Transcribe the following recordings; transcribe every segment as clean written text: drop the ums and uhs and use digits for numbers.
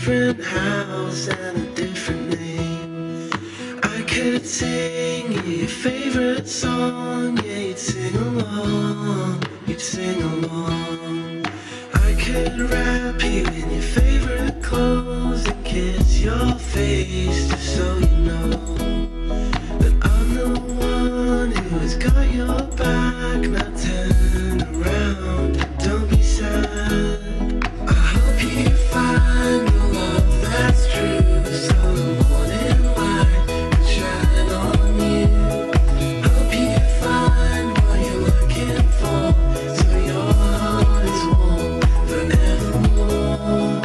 different house and a different name. I could sing you your favorite song, yeah, you'd sing along, you'd sing along. I could wrap you in your favorite clothes and kiss your face just so you know that I'm the one who has got your back. Now turn around, don't be sad. I hope you find the love that's true, so the morning light can shine on you. Hope you find what you're looking for, so your heart is warm forevermore.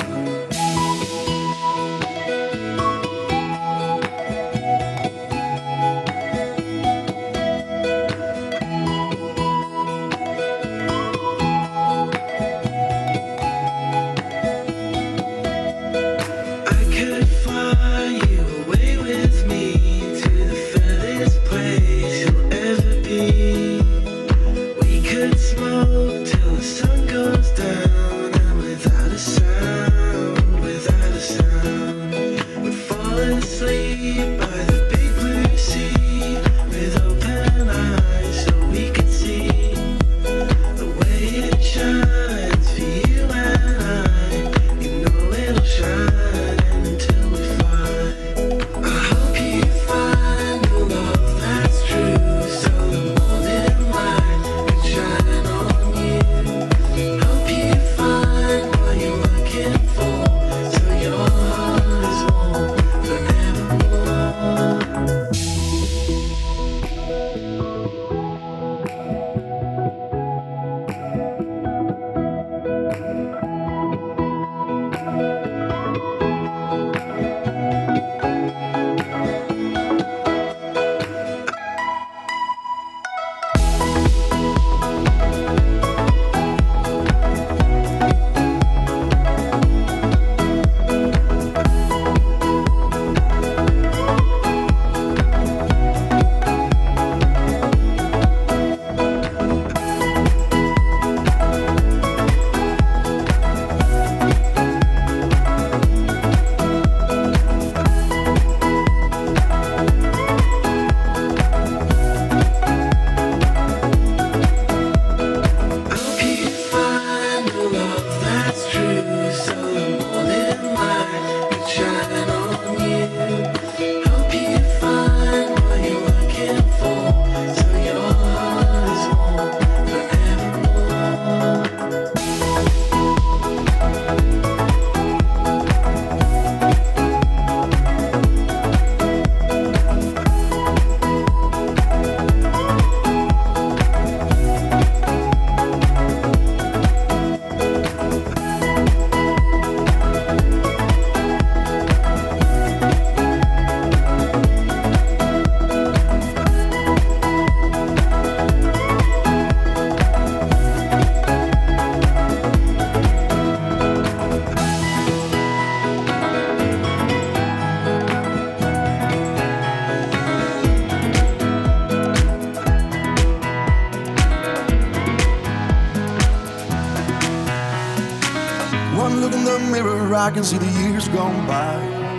I can see the years gone by.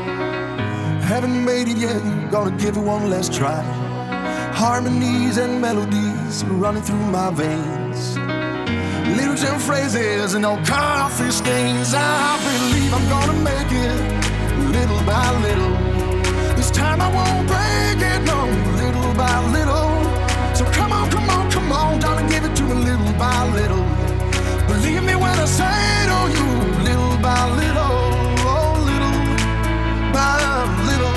Haven't made it yet, gonna give it one last try. Harmonies and melodies running through my veins. Lyrics and phrases and old coffee stains. I believe I'm gonna make it little by little. This time I won't break it, no, little by little. So come on, come on, come on, darling, give it to me little by little. Believe me when I say to you, little by little, oh, little by little,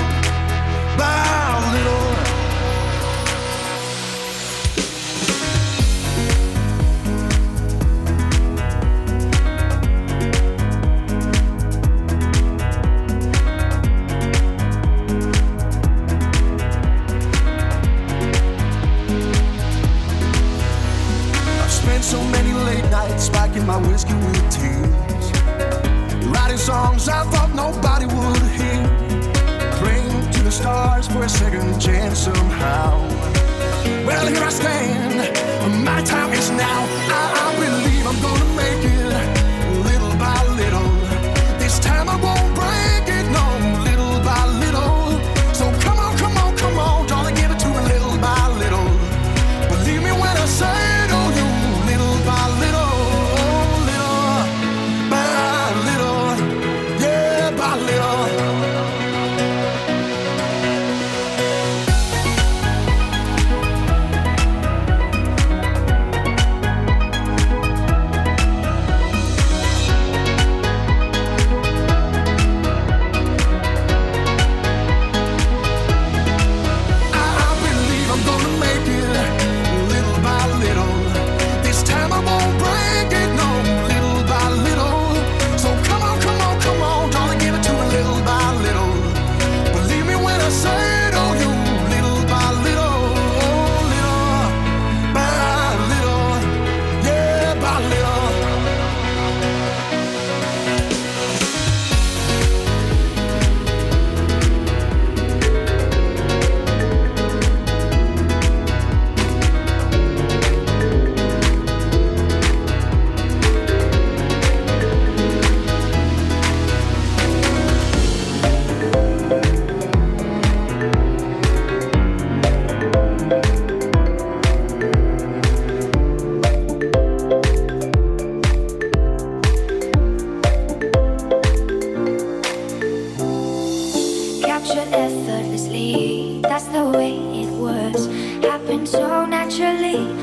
by little. So many late nights spiking my whiskey with tears, writing songs I thought nobody would hear, praying to the stars for a second chance somehow. Well, here I stand, my time is now. I believe I'm gonna make it little by little. This time I won't break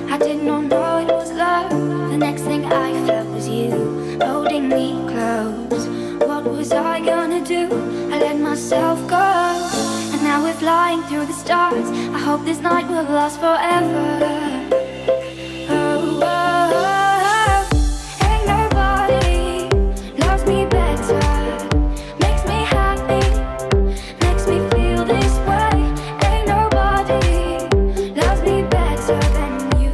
I did not know it was love. The next thing I felt was you holding me close. What was I gonna do? I let myself go, and now we're flying through the stars. I hope this night will last forever. Oh, oh, oh. Ain't nobody loves me better. Makes me happy, makes me feel this way. Ain't nobody loves me better than you.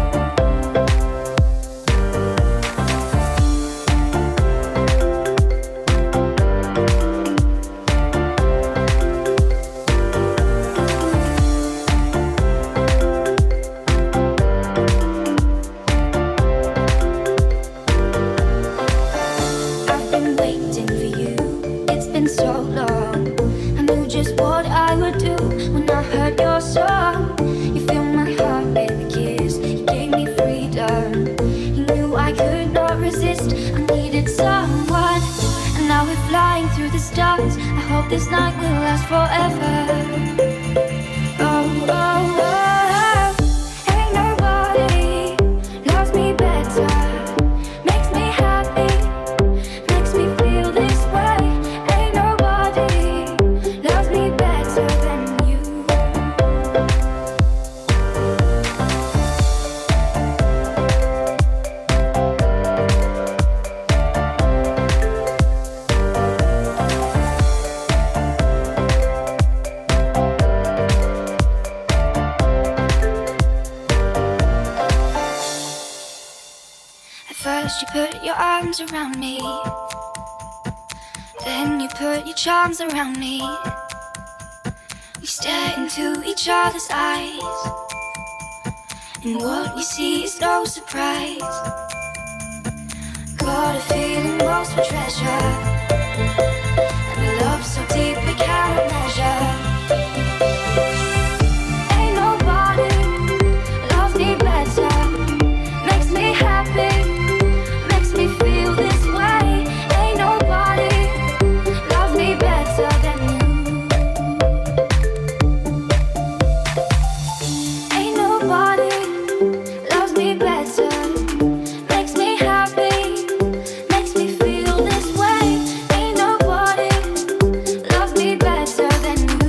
I've been waiting for you, it's been so long. I knew just what I would do when I heard your song. You filled my heart with a kiss, you gave me freedom. You knew I could not resist, I needed someone. And now we're flying through the stars. I hope this night will last forever. Oh, oh, oh. Ain't nobody loves me better. Makes me happy, makes me feel this way. Ain't nobody loves me better than you. At first you put your arms around me, then you put your charms around me. We stare into each other's eyes, and what we see is no surprise. Got a feeling lost for treasure, and a love so deep we cannot measure. Ain't nobody loves me better. Makes me happy, makes me feel this way. Ain't nobody loves me better than you. Ain't nobody loves me better. Makes me happy, makes me feel this way. Ain't nobody loves me better than you.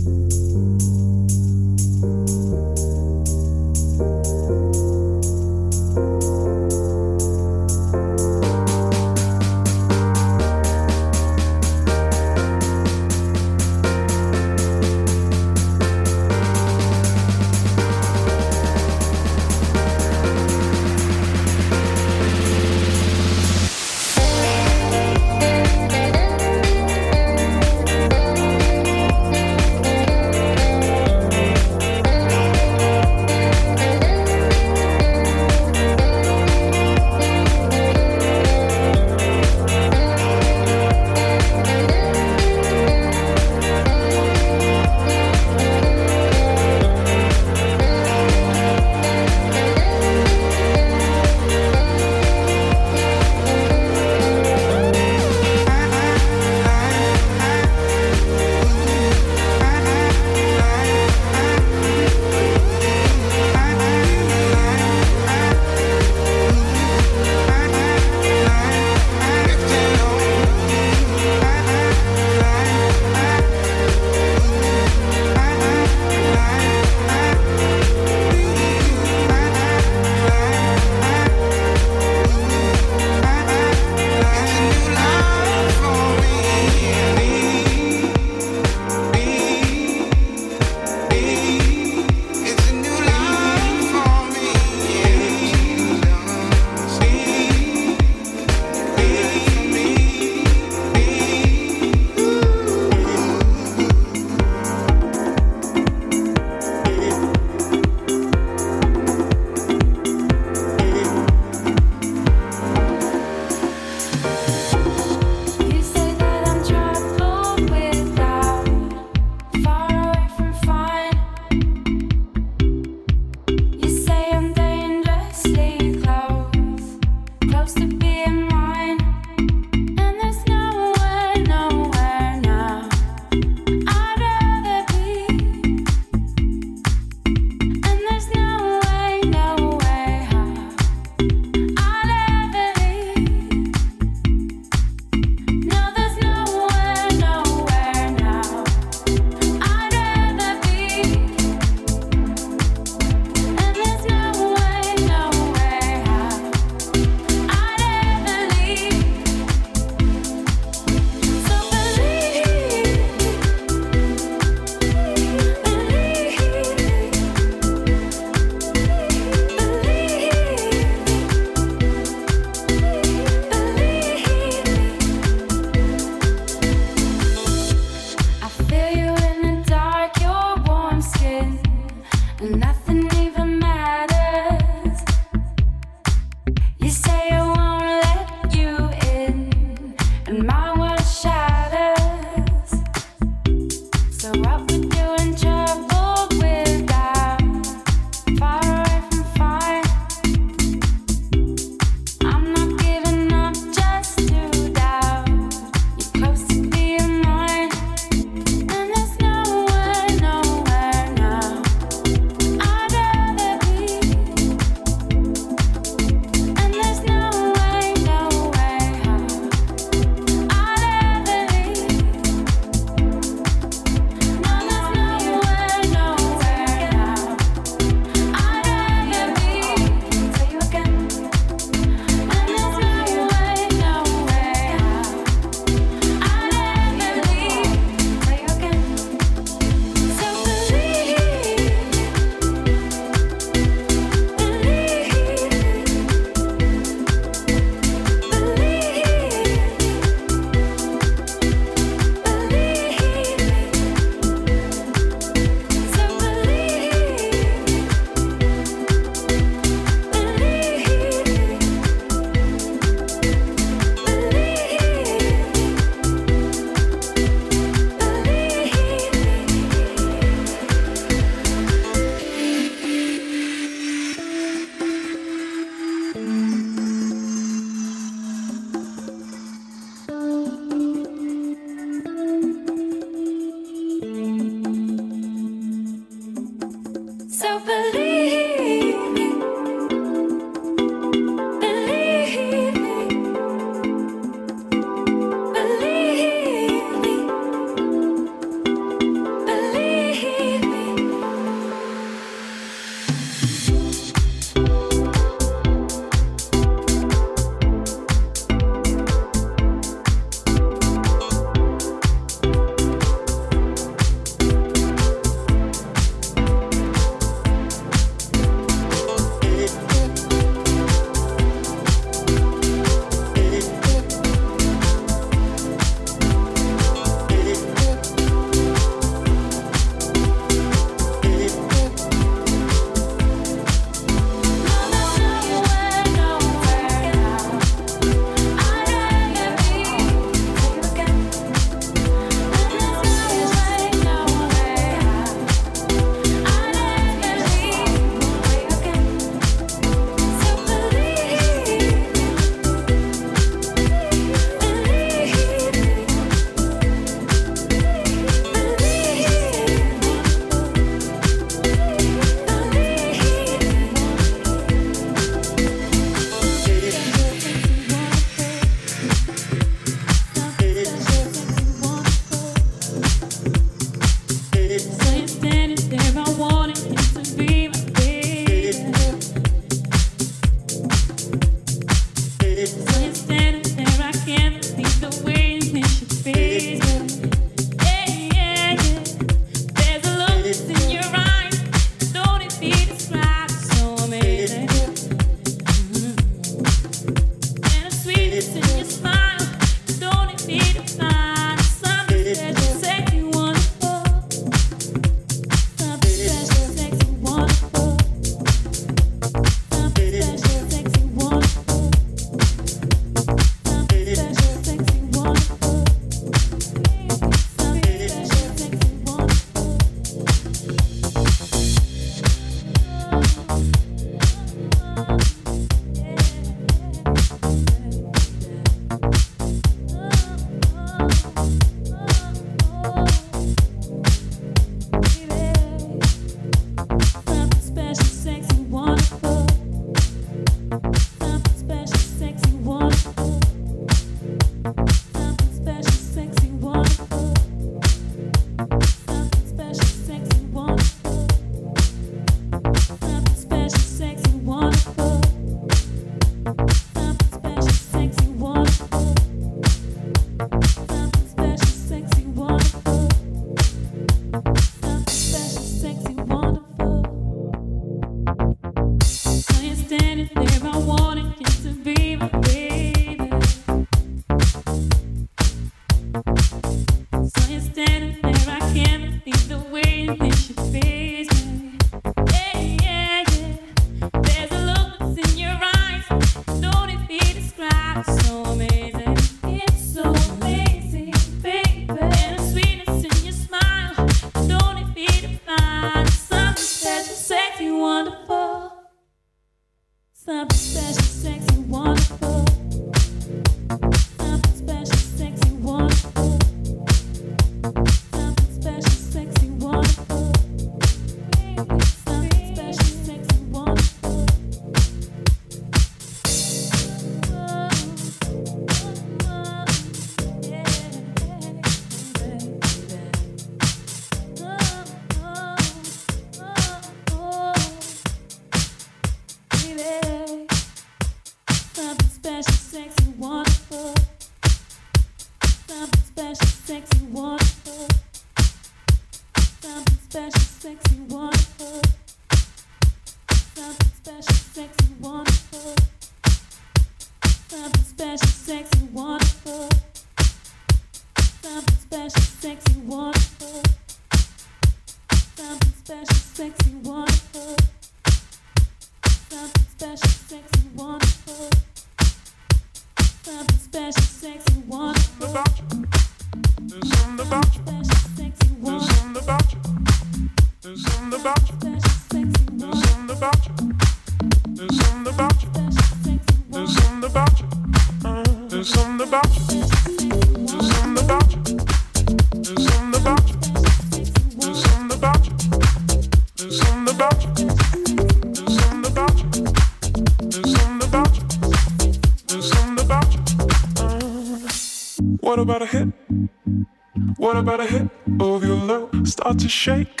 What about a hit? What about a hit of your love? Start to shake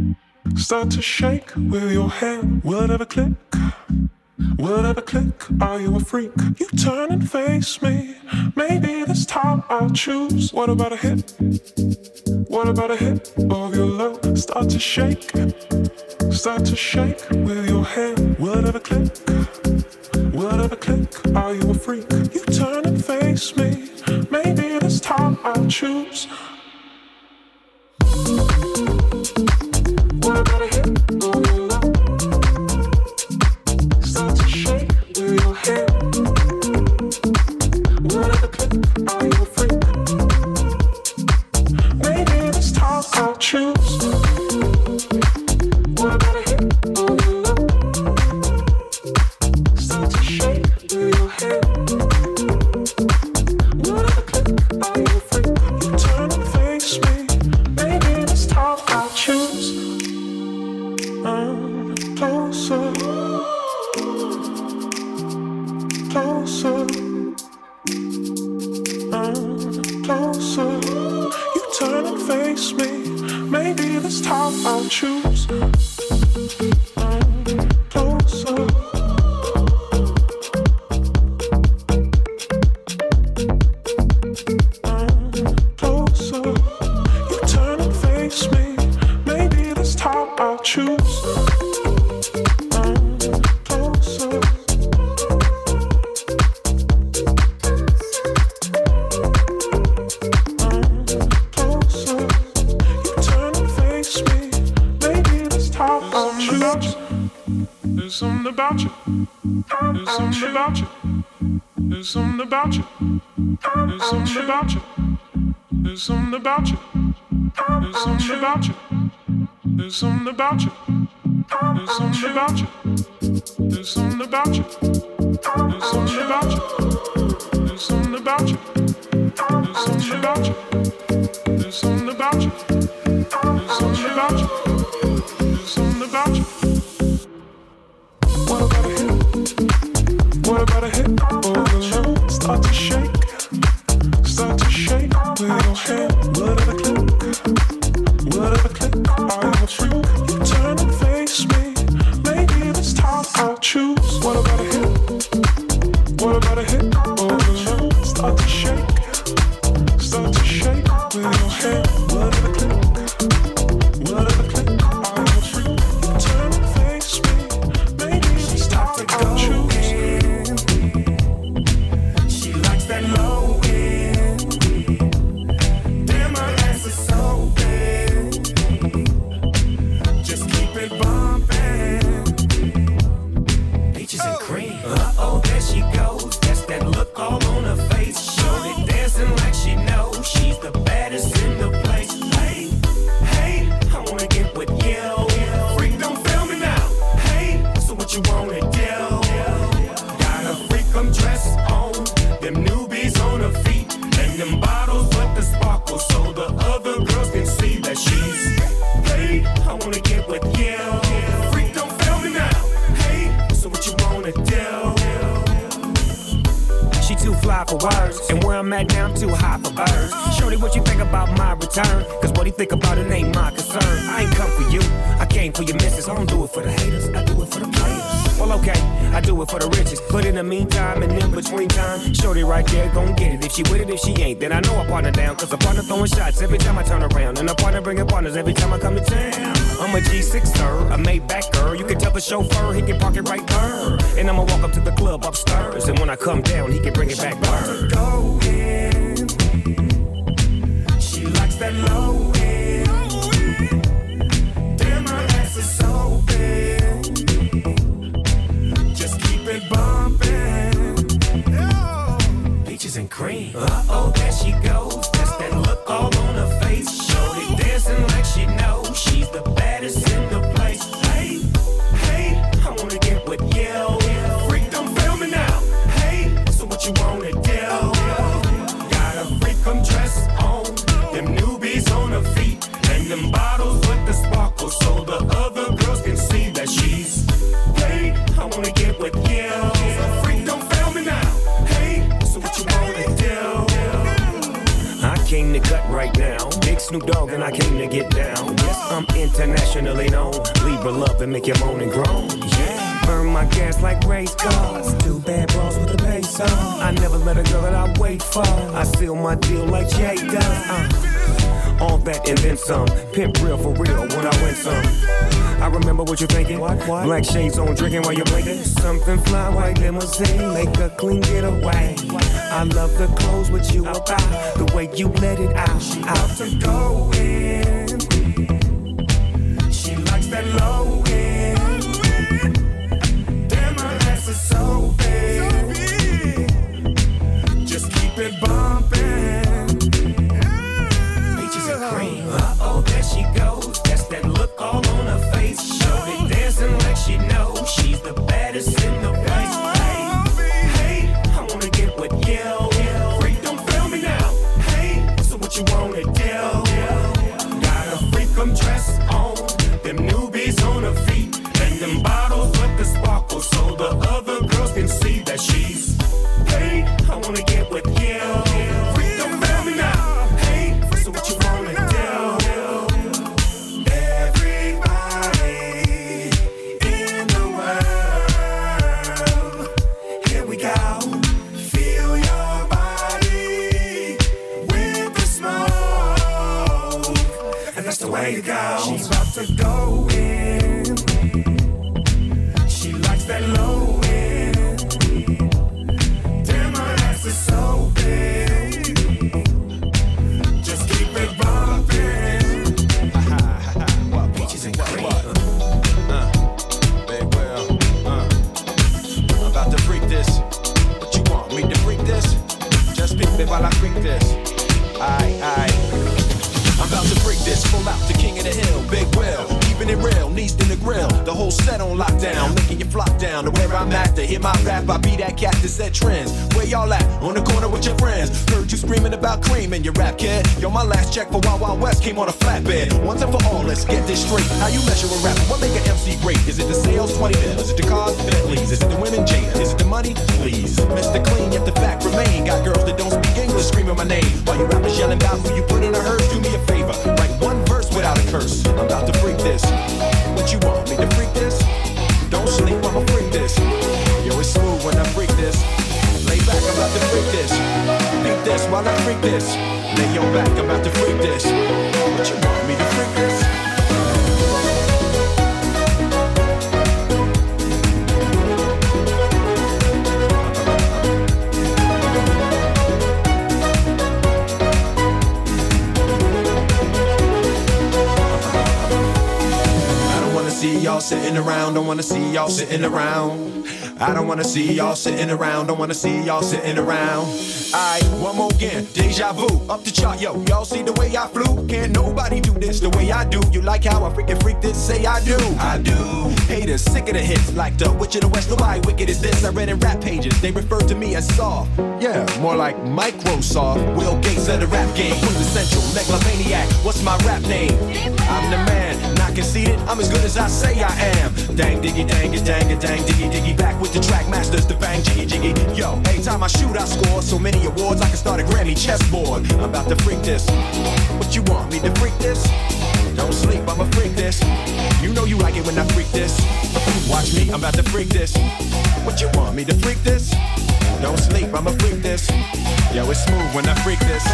with your hand. Will it ever click? Will it ever click? Are you a freak? You turn and face me. Maybe this time I'll choose. What about a hit? What about a hit of your love? Start to shake with your hand. Will it ever click? Will it ever click? Are you a freak? You turn and face me. Maybe this time I'll choose. What about a hit of your love? Start to shake with your hand. Will it ever click? Are you a freak? Maybe this time I'll choose. What about a hit of your love? Start to shake with your hand. Will it ever click? Are you a freak? You turn and face me. Maybe this time I'll choose. Closer, closer, closer. You turn and face me. Maybe this time I'll choose. Closer. Closer. You turn and face me. Maybe this time I'll choose. There's something about you. There's something about you. There's something about you. There's something about you. There's something about you. There's something about you. There's something about you. There's something about you. There's something about you. There's something about you. There's something about you. There's something about you. There's something about you. There's something about you. There's something about you. What about a hit? What about a hit of your love? Start to shake with your hand. Will it ever click? Will it ever click? Are you a freak? You turn and face me. Maybe this time I'll choose. What about a hit? What about a hit of your love? Start to shake with your hand. Will it ever click? Will it ever click? Are you a freak? You turn and face me. Maybe this time I'll choose. She likes that low end. Damn, her ass is so big. Just keep it bumping. Peaches and cream. Uh-oh, there she goes. That's that look all on her face. Shorty dancing like she knows she's the baddest in the place. Hey, hey, I wanna get with you. Freak, don't fail me now. Hey, so what you wanna do? Got a freak, I'm dressed on. Them newbies on her feet. And them bottles with the sparkle so the other girls can see that she's paid. I wanna get with you. Freak, don't fail me now. Hey, so what you wanna do? She too fly for words, and where I'm at now I'm too high for birds. Shorty, what you think about my return? Cause what he think about it ain't my concern. I ain't come for you, I came for your missus. I don't do it for the haters, I do it for the players. Well, okay, I do it for the riches. But in the meantime and in between time, shorty right there gon' get it. If she with it, if she ain't, then I know I partner down. Cause a partner throwing shots every time I turn around. And a partner bringing partners every time I come to town. I'm a G6er, a Maybach-er. You can tell the chauffeur, he can park it right there. And I'ma walk up to the club upstairs. And when I come down, he can bring it back there. Go in. She likes that low end. Damn, her ass is so big. Just keep it bumping. Peaches and cream. Uh-oh, there she goes. That's that look all on her face. Shorty dancing like she knows she's the baddest in the place. Hey, hey, I wanna get with you. Freak, don't fail me now. Hey, so what you wanna do? Got a freak, come dress on. Them newbies on her feet. And them bottles with the sparkle. So the other girls can see that she's hey, I wanna get with you. Freak, don't fail me now. Hey, so what you wanna do? I came to cut right now. Big Snoop Dogg and I came to get down. Yes, I'm internationally known. Libra love and make you moan and groan. Yeah, burn my gas like race cars. Two bad bras with the bass on. I never let a girl that I wait for. I seal my deal like Jay does. All that and then some. Pimp real for real when I win some. I remember what you're thinking. What? Black shades on, drinking while you're blinking. Something fly, white limousine, make a clean getaway. I love the clothes with you about, the way you let it out. She out to go in. She likes that low end. Damn, her ass is so big. Just keep it bumping. Cream. Uh-oh, there she goes. That's that look all on her face. Shorty dancing like she knows she's the baddest in the place. Hey, hey, I wanna get with you. Freak, don't fail me now. Hey, so what you wanna do? Got a freak, come dress on. Them newbies on her feet. And them bottles with the sparkle. So the other girls can see that she's hey, I wanna get with you. Freak, don't fail me now. Hey, so what you wanna do? Way to go. She's about to go in. She likes that low end. Damn, her ass is so big. Just keep it bumping. Peaches and cream. Big well. I'm about to freak this. What you want me to freak this? Just peek me while I freak this. Aye. I'm about to break this, full out the king of the hill, big well, keeping it real, Neast in the grill, the whole set on lockdown, making you flock down to where I'm at, to hear my rap, I be that cat that set trends, where y'all at, on the corner with your friends, heard you screaming about cream in your rap, kid, yo, my last check for Wild Wild West came on a flatbed, once and for all, let's get this straight, how you measure a rapper, what make an MC great, is it the sales, 20 mil, is it the cars, Bentleys, is it the women, Jada, is it the money, please, Mr. Clean, yet the fact remain, got girls that don't speak English screaming my name, while you rappers yelling about who you put in a hearse, do me a favor, write one verse without a curse. I'm about to freak this. What you want me to freak this? Don't sleep, I'ma freak this. Yo, it's smooth when I freak this. Lay back, I'm about to freak this. Beat this while I freak this. Lay your back, I'm about to freak this. What you want me to freak this? See y'all sitting around, don't wanna see y'all sitting around. I don't wanna see y'all sitting around, don't wanna see y'all sitting around. Alright, one more again, deja vu, up the chart, yo. Y'all see the way I flew? Can't nobody do this the way I do. You like how I freaking freak this? Say I do. I do. Haters sick of the hits, like the Witch of the West. Nobody wicked as this. I read in rap pages, they refer to me as soft. Yeah, more like Microsoft. Will Gates of the rap game, quintessential megalomaniac. What's my rap name? I'm the man, not conceited. I'm as good as I say I am. Dang diggy, dang it, dang it, dang diggy, diggy. Back with the track masters, the bang jiggy, jiggy. Yo, every time I shoot, I score so many awards I can start a Grammy chessboard. I'm about to freak this. What you want me to freak this? Don't sleep, I'ma freak this. You know you like it when I freak this. Watch me, I'm about to freak this. What you want me to freak this? Don't sleep, I'ma freak this. Yo, it's smooth when I freak this.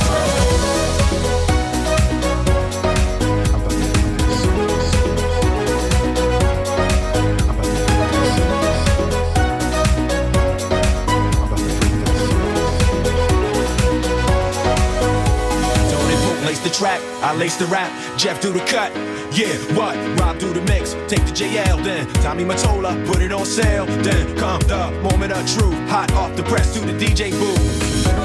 Lace the track, I lace the rap, Jeff do the cut. Yeah, what? Rob do the mix, take the JL, then Tommy Mottola, put it on sale. Then come the moment of truth, hot off the press to the DJ booth.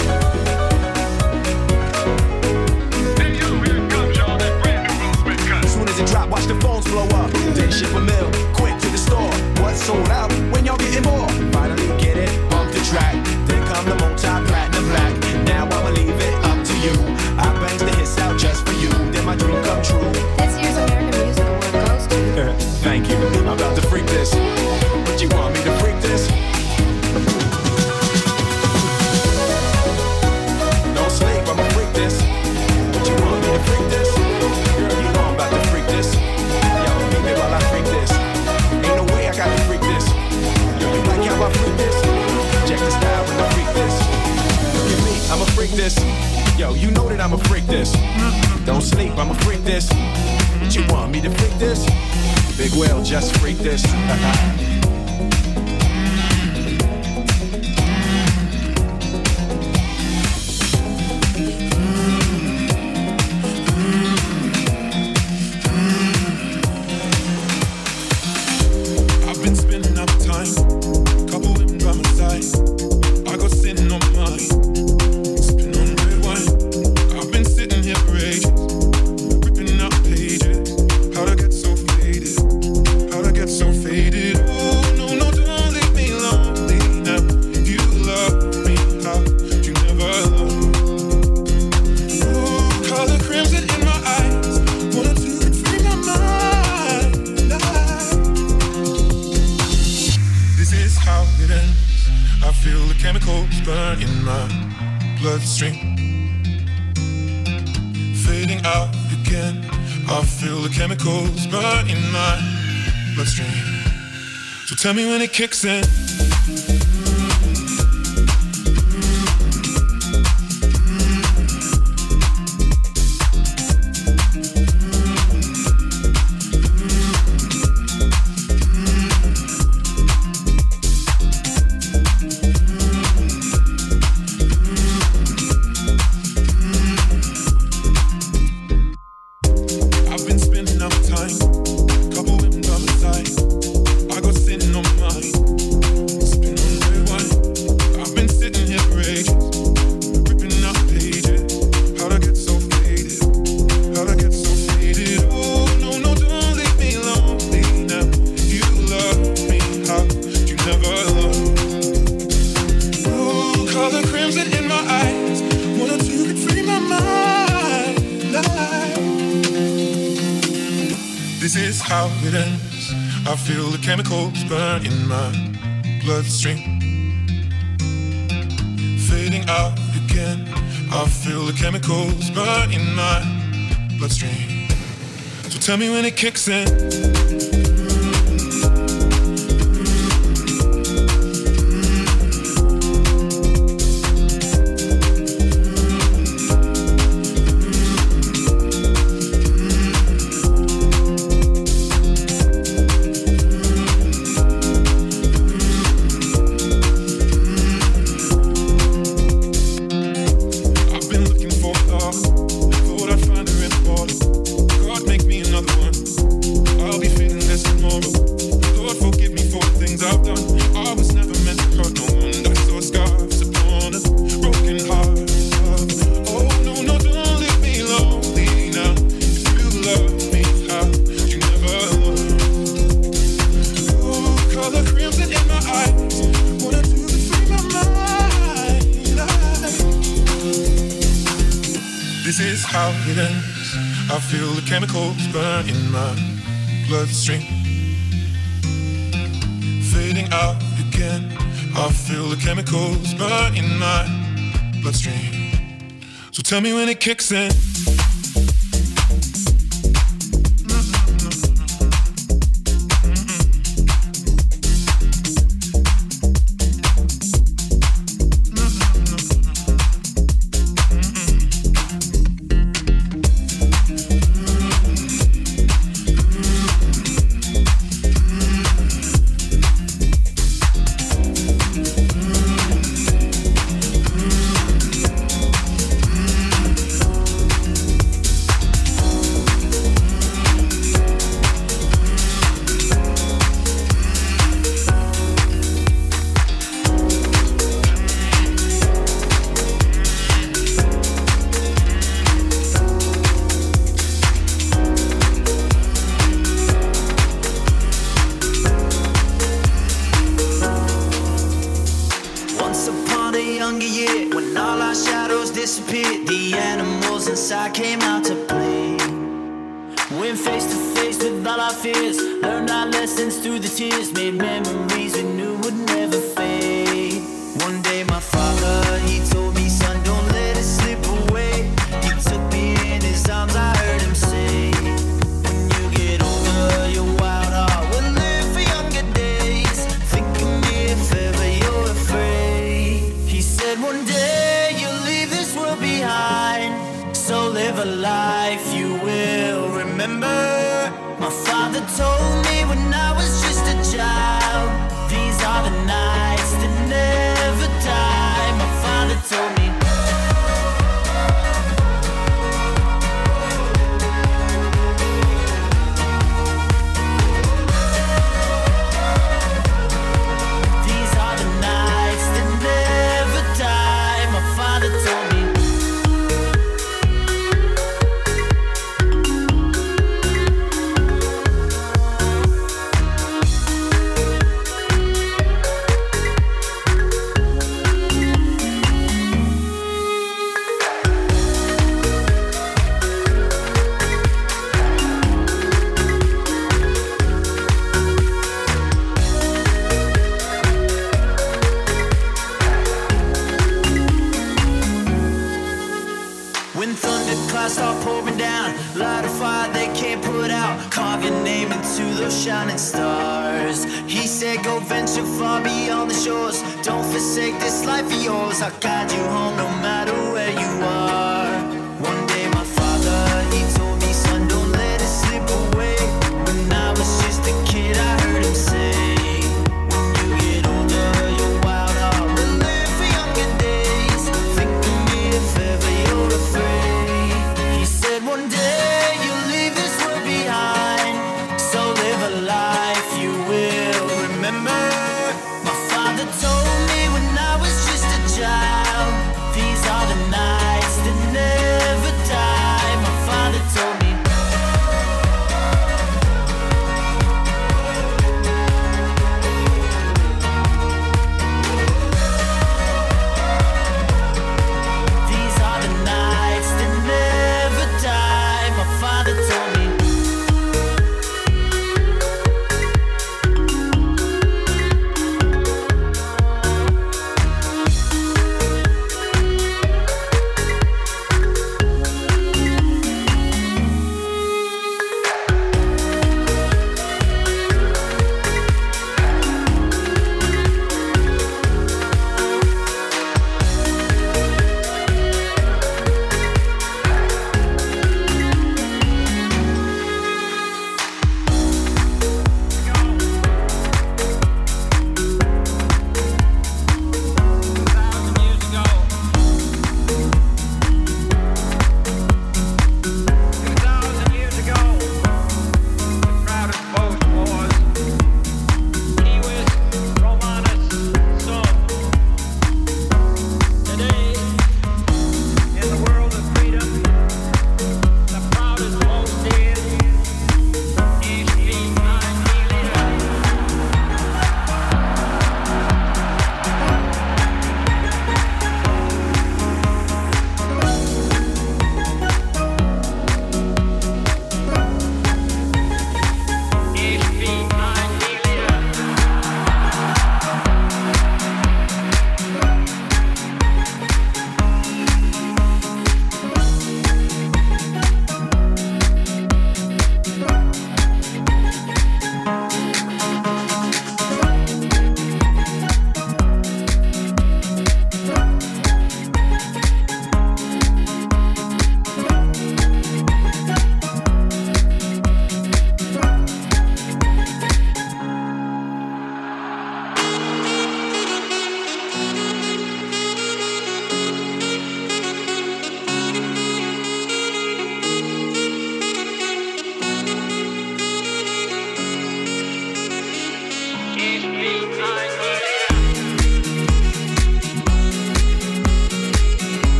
As soon as it drop, watch the phones blow up. Then ship a mill, quick to the store. What's sold out? When y'all getting more? Finally get it, bump the track. Then come the multi-platinum black. Now I'ma leave it up to you. I bangs the hits out just for you. Then my dream come true. This year's American Music Award goes to. Thank you. I'm about to freak this. But you want me to freak this? Don't sleep, I'ma freak this. But you want me to freak this? Girl, you know I'm about to freak this. Yo, beat me while I freak this. Ain't no way I got to freak this. Yo, you like how I freak this? Check the style when I freak this. Look at me, I'ma freak this. Yo, you know that I'ma freak this. Don't sleep, I'ma freak this. But you want me to freak this? Big Will, just freak this. I've been spending up time, couple women by my side. I got sitting on mine. So faded. Oh, no, no, don't leave me lonely now. You love me, how you never love. Oh, color crimson in my eyes. Wanted to free my mind. This is how it ends. I feel the chemicals burn in my bloodstream. Fading out again. I feel the chemicals burn in my bloodstream. So tell me when it kicks in. Chemicals burn in my bloodstream. Fading out again. I feel the chemicals burn in my bloodstream. So tell me when it kicks in. I feel the chemicals burn in my bloodstream. Fading out again. I feel the chemicals burn in my bloodstream. So tell me when it kicks in. younger year, when all our shadows disappeared, the animals inside came out to play. Went face to face with all our fears, learned our lessons through the tears, made memories we knew would never fade. One day my father, he told me, son, don't let it slip away. He took me in his arms, I heard him say, when you get older, your wild heart will live for younger days. Think of me if ever you're afraid. He said one day you'll leave this world behind, so live a life you will remember. My father told me when I was just a child, these are the nights that never die. My father told me. These are the nights that never die. My father told me. When thunderclouds start pouring down, light a fire they can't put out, carve your name into those shining stars. He said go venture far beyond the shores, don't forsake this life of yours, I'll guide you home no matter where you are. One day my father, he told me, son, don't let it slip away. When I was just a kid, I heard him say, when you get older, your wild heart will live for younger days. Think of me if ever you're afraid. He said one day you'll leave this world behind, so live a life you will remember. My father told me when I was just a child, these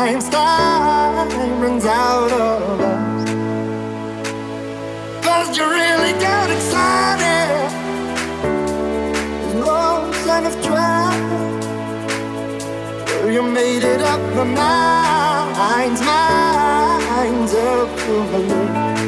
time runs out of us. 'Cause you really got excited. There's no sign of trying. You made it up, my mind's up for me.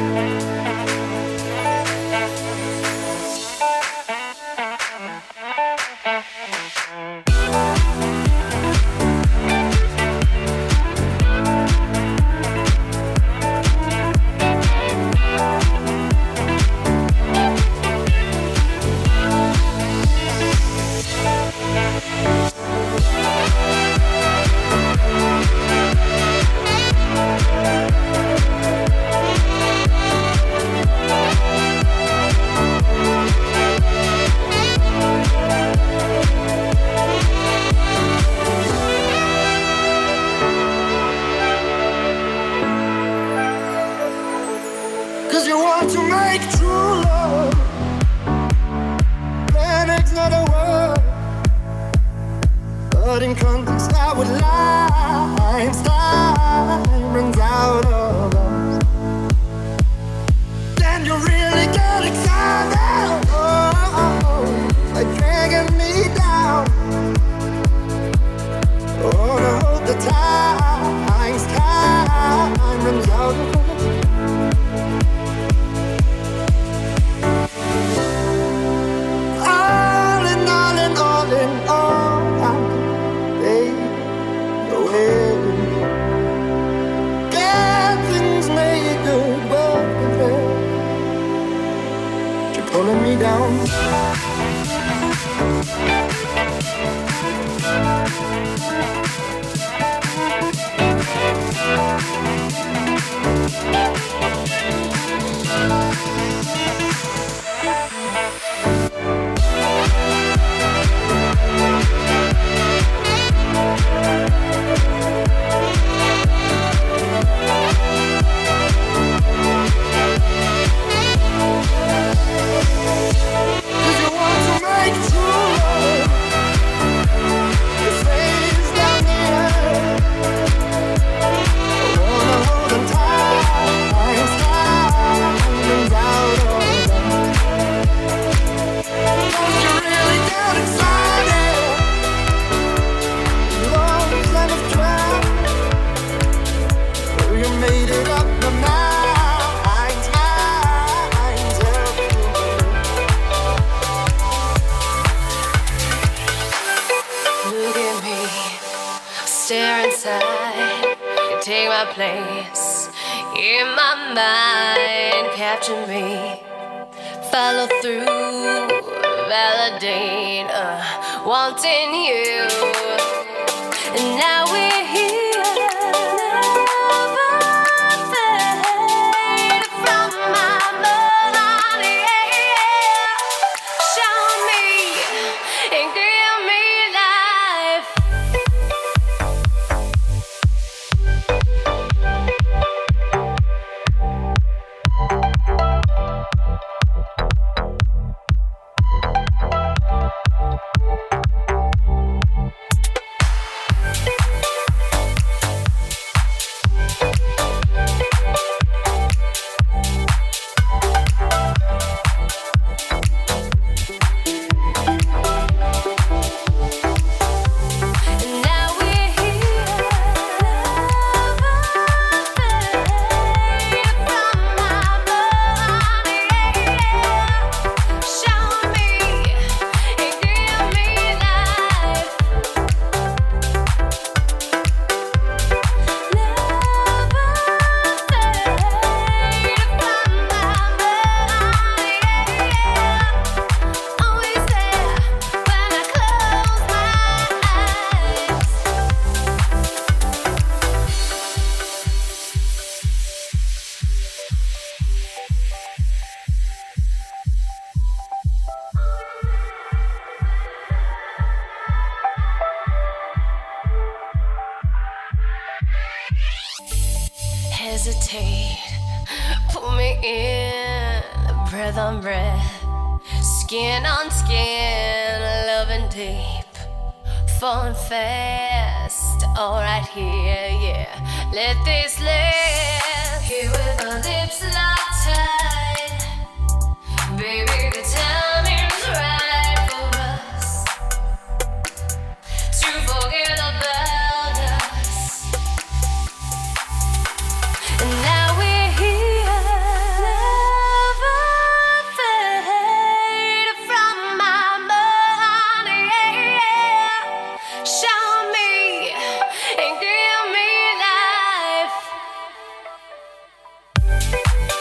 hesitate. Pull me in, breath on breath, skin on skin, loving deep. falling fast. All right here, yeah. Let this last. Here with my lips locked tight. Baby, the timing's right for us to forget about us. And now we're here. Never fade from my mind. Yeah. Show me and give me life.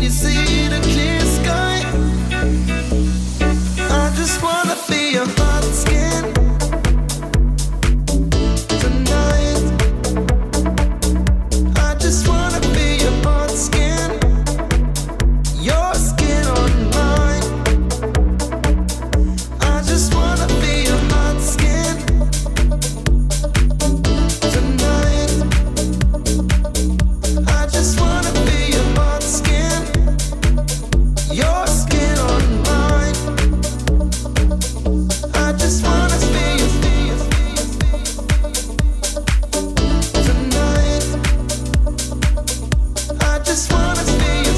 you see the clear sky? I just wanna feel your hot skin tonight. I just wanna feel your hot skin, your skin on mine. I just wanna feel your hot skin tonight. I just wanna feel your hot skin, your skin on mine. I just wanna feel your tonight. I just wanna feel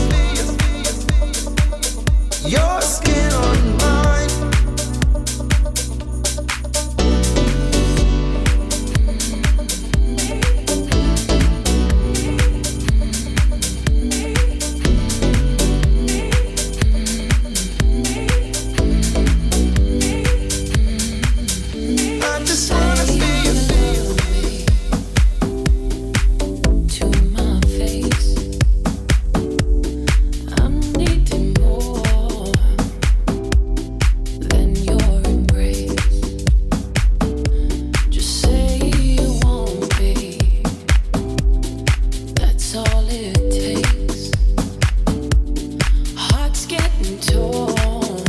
your skin on mine. I just wanna feel To my face, I'm needing more than your embrace. Just say you won't be. That's all it takes. Hearts getting torn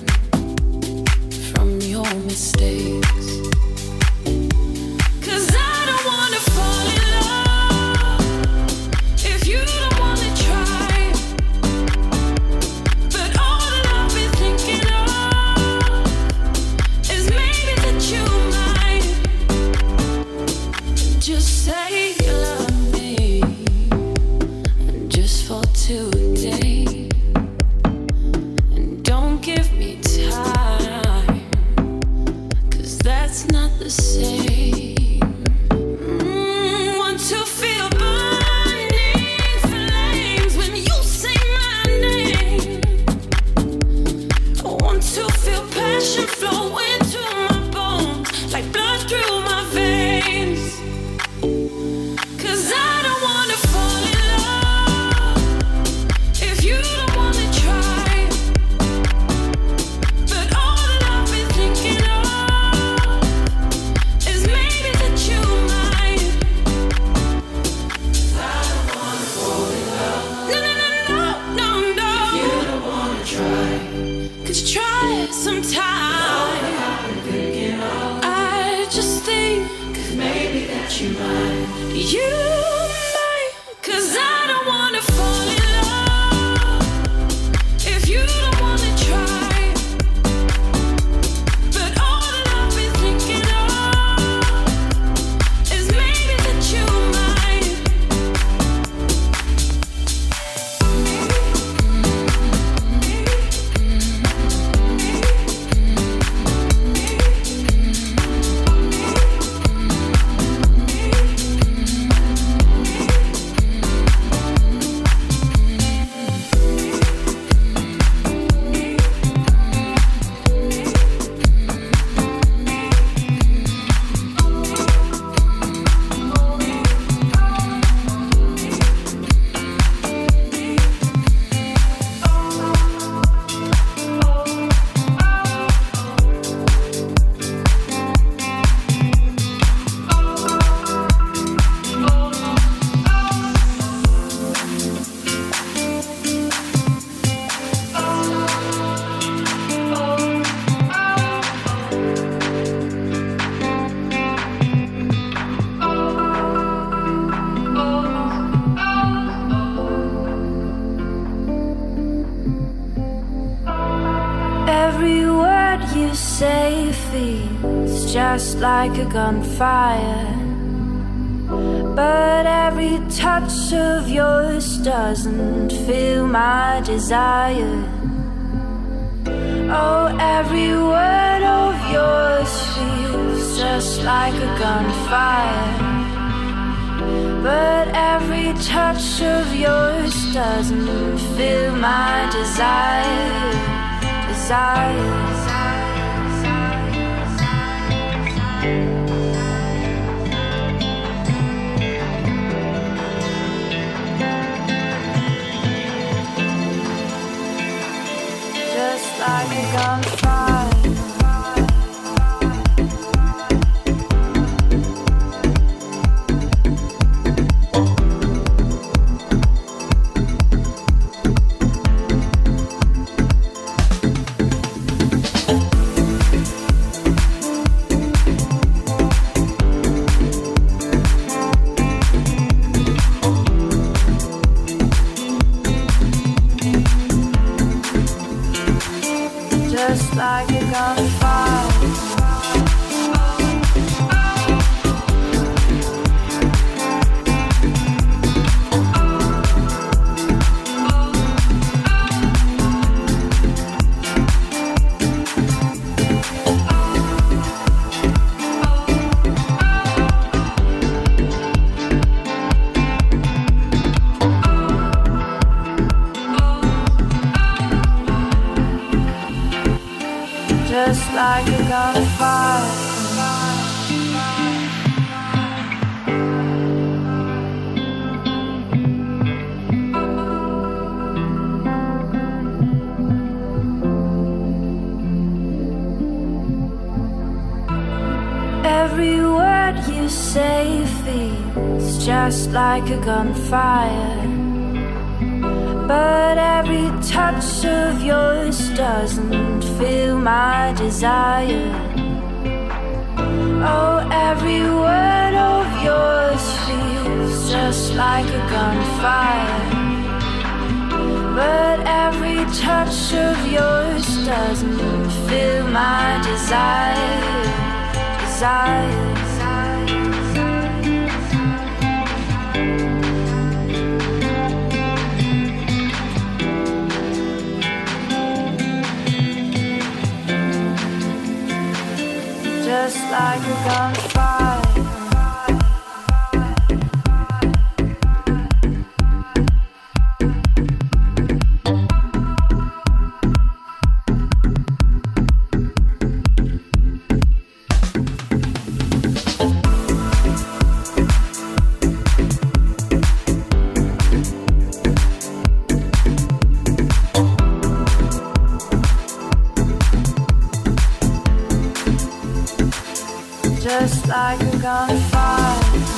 from your mistakes. 'Cause I don't wanna fall in love if you don't wanna try. But all that I've been thinking of is maybe that you might just say you love me, just for today, and don't give me time, 'cause that's not the same. Want to feel burning flames when you say my name. I want to feel passion flowing to my bones, like blood through my veins. 'Cause I don't wanna fall in love if you don't wanna try. But all that I've been thinking of is maybe that you might. I don't wanna fall in love. No, no, no, no, no, no. If you don't wanna try, could you try it sometime? All that I've been thinking of, I just think, 'cause maybe that you might. You might, 'cause I don't wanna fall in love if you don't wanna try. But all that I've been thinking of is maybe that you might. Every word you say feels just like a gunfire, but every touch of yours doesn't feel my desire. Oh, every word of yours feels just like a gunfire, but every touch of yours doesn't feel my desire. gun fire. Just like a gunfire. Just like a gunfire. Every word you say feels just like a gunfire. But every touch of yours doesn't fill my desire. Oh, every word of yours feels just like a gunfire. But every touch of yours doesn't fill my desire. Just like a gunfire. Just like a gunfire.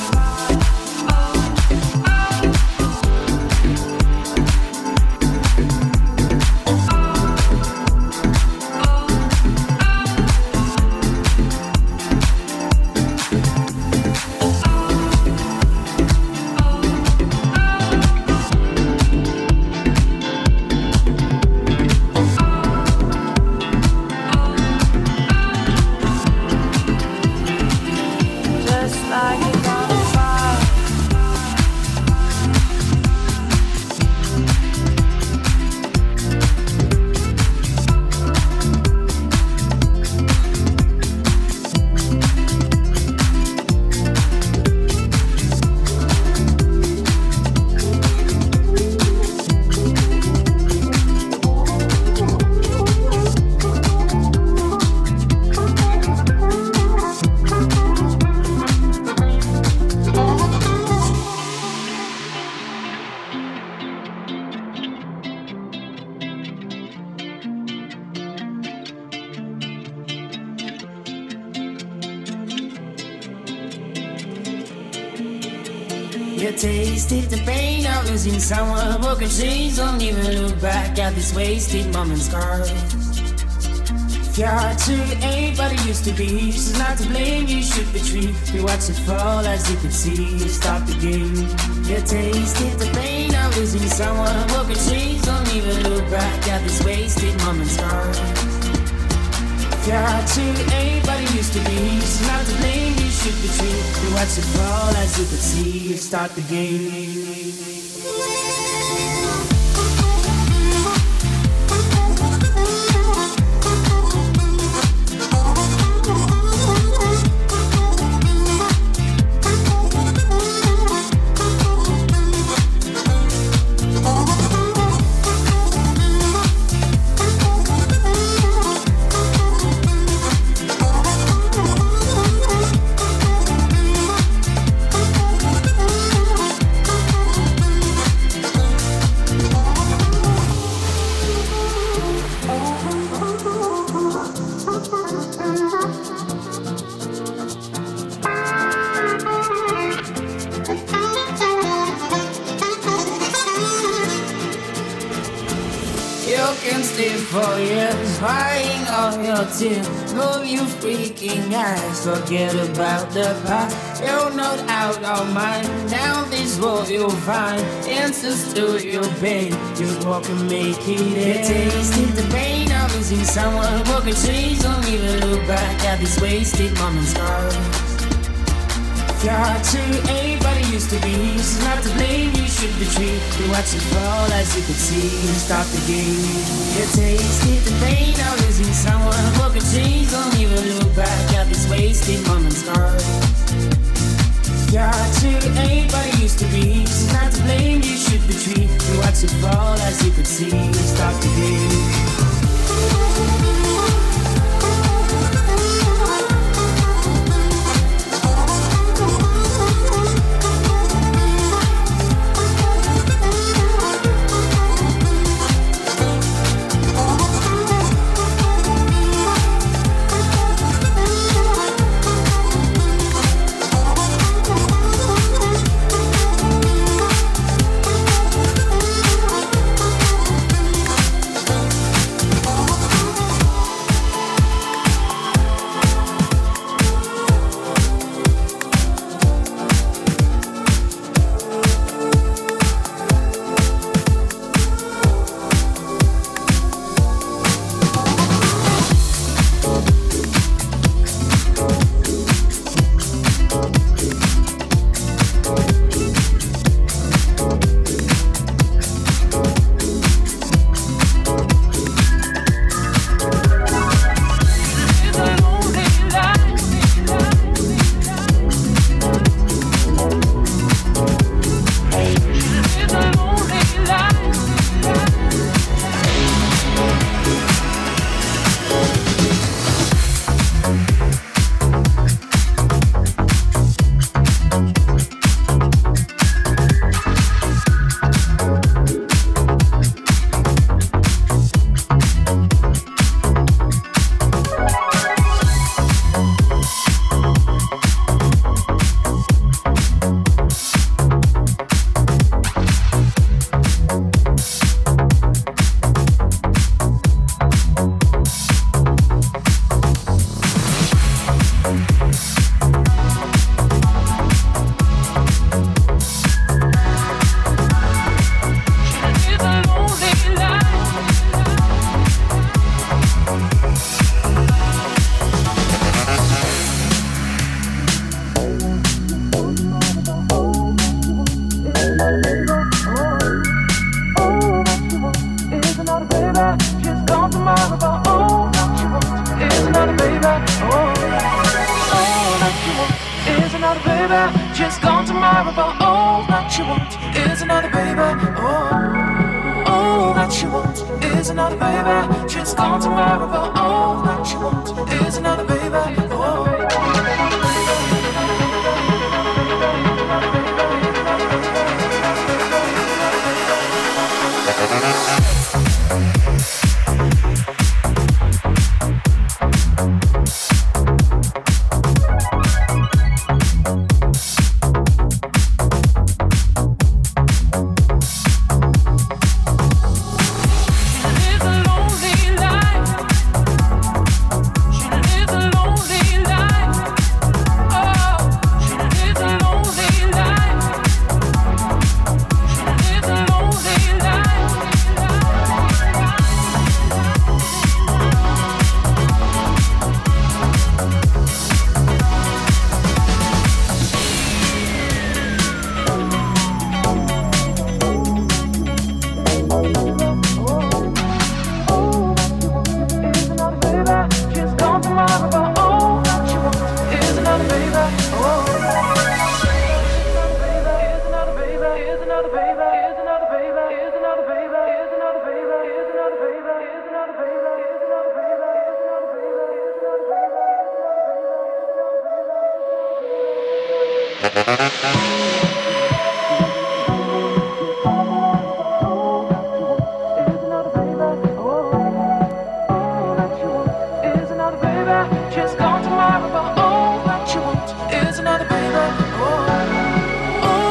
You tasted the pain of losing someone. Broken chains, don't even look back at this wasted moment's scars. If your heart truly ain't what it used to be, she's not to blame, you should retreat. You watch it fall as you could see, stop the game. You tasted the pain of losing someone. Broken chains, don't even look back at this wasted moment's scars. If your heart truly ain't what it used to be, she's not to blame, you should retreat. You watch it fall as you could see, start the game. can stay for years, crying all your tears. Move you freaking eyes, forget about the past. You're not out of mind. Down this road you'll find answers to your pain. Just walk and make it end. Tasted the pain of losing someone. Walking trees, don't even look back at these wasted moments. If you're hard to anybody used to be, she's not to blame, you should retreat. You watch it fall as you could see, start the game. You tasted the pain of losing someone. Broken trees, don't even look back at these wasted moments. If you're hard to anybody used to be, she's not to blame, you should retreat. You watch it fall as you could see, start the game.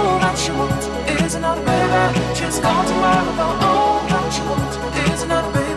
Just gone tomorrow, all that you want is another baby.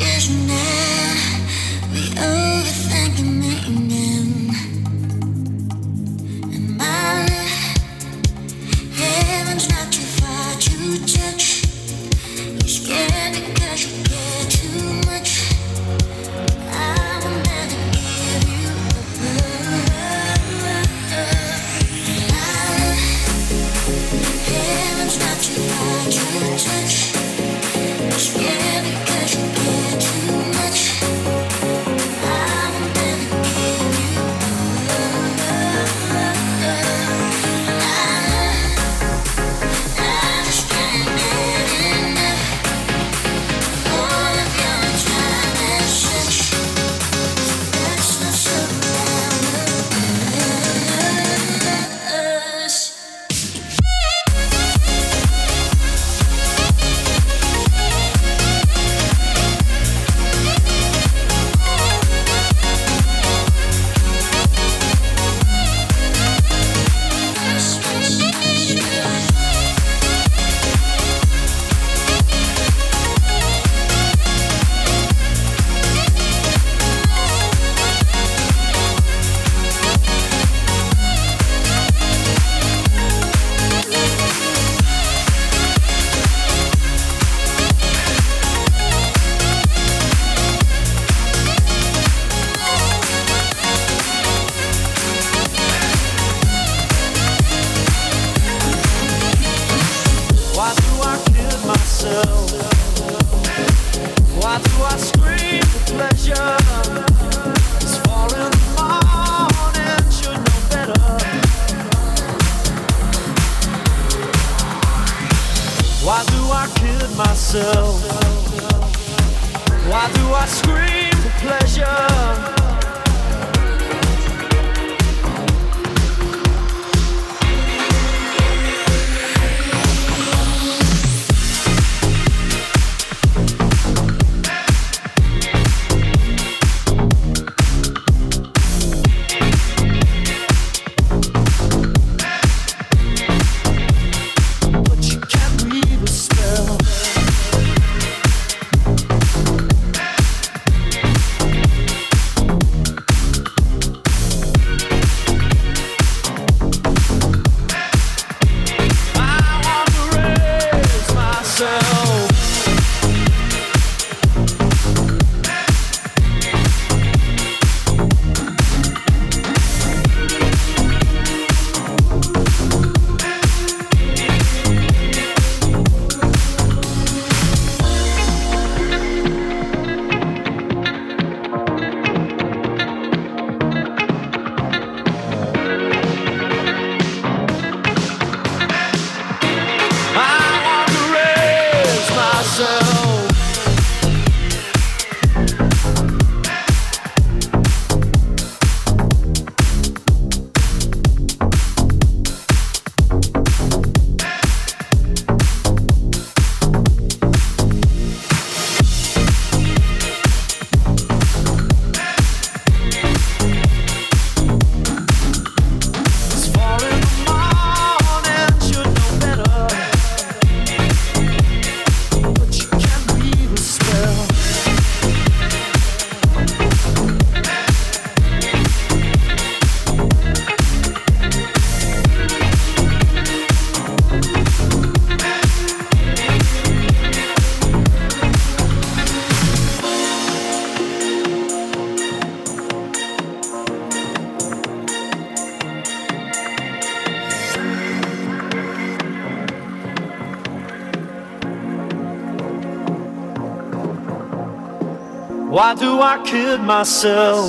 Why do I kid myself?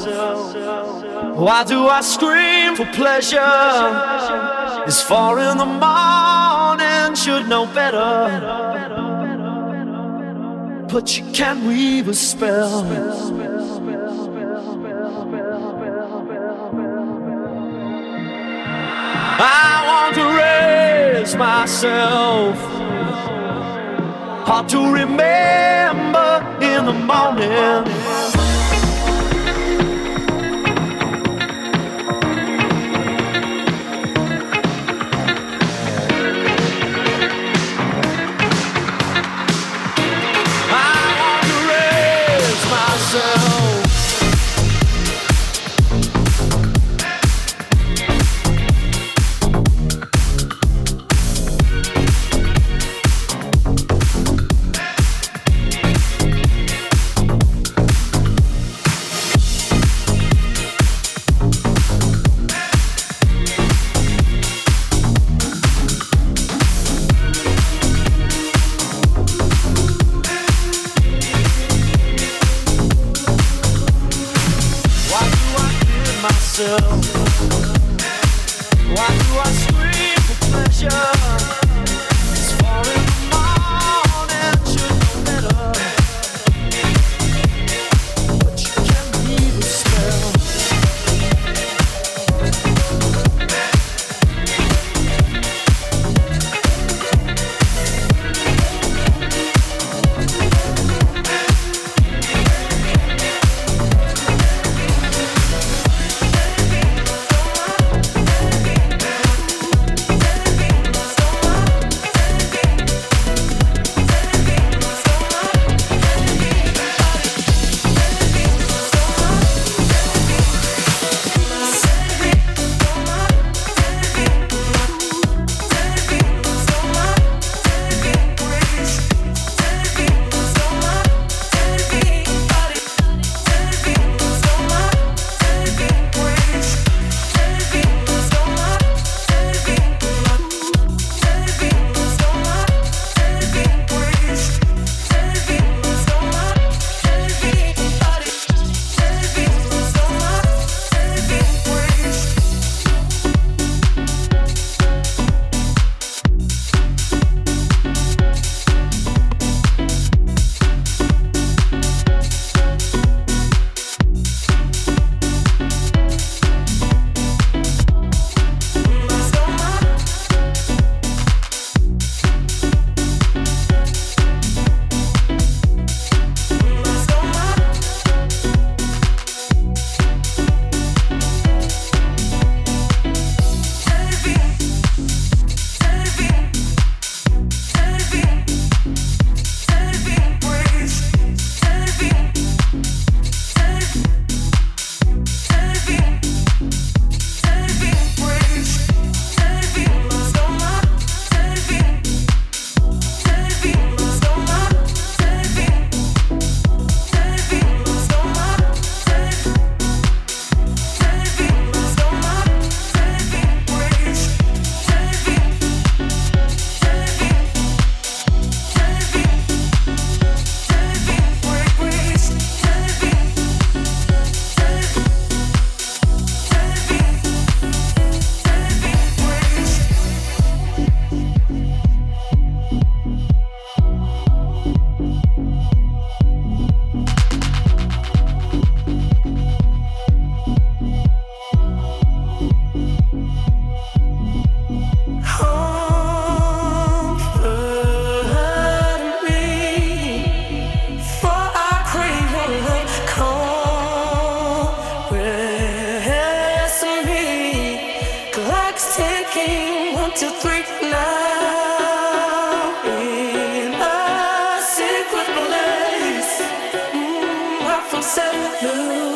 Why do I scream for pleasure? It's 4 in the morning, should know better. But you can't weave a spell. I want to raise myself. Hard to remember in the morning. I want to raise myself. Why do I scream for pleasure? It's 4 in the morning, should know better. But you can't leave a spell. Ticking 1, 2, 3 now in a secret place. I feel so blue.